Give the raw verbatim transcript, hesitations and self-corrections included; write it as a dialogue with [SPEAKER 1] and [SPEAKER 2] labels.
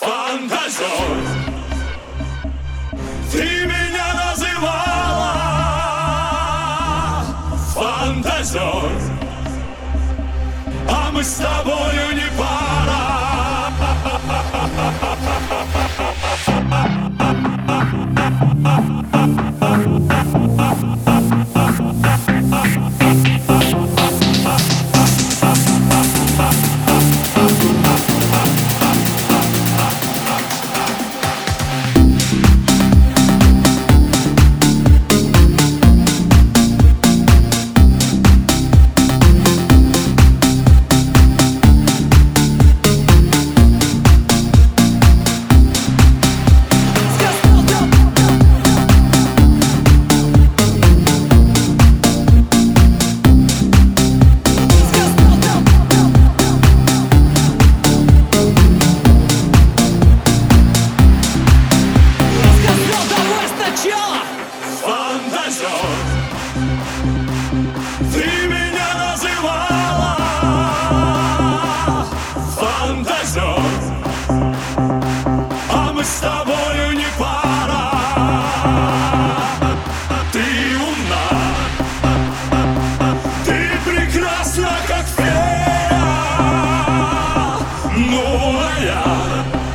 [SPEAKER 1] Фантазер, ты меня называла фантазер, а мы с тобою не пара. Ты меня называла фантазер, а мы с тобою не пара. Ты умна, ты прекрасна, как фея, ну а я